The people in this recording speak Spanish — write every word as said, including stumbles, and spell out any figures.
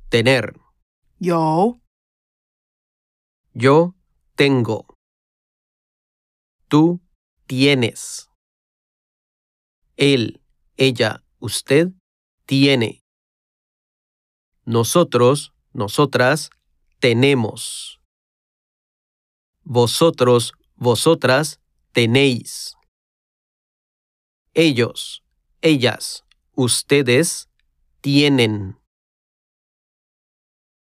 tener. 有 Yo tengo. Tú tienes. Él, ella, usted tiene. Nosotros, nosotras tenemos. Vosotros, vosotras tenéis. Ellos, ellas, ustedes tienen.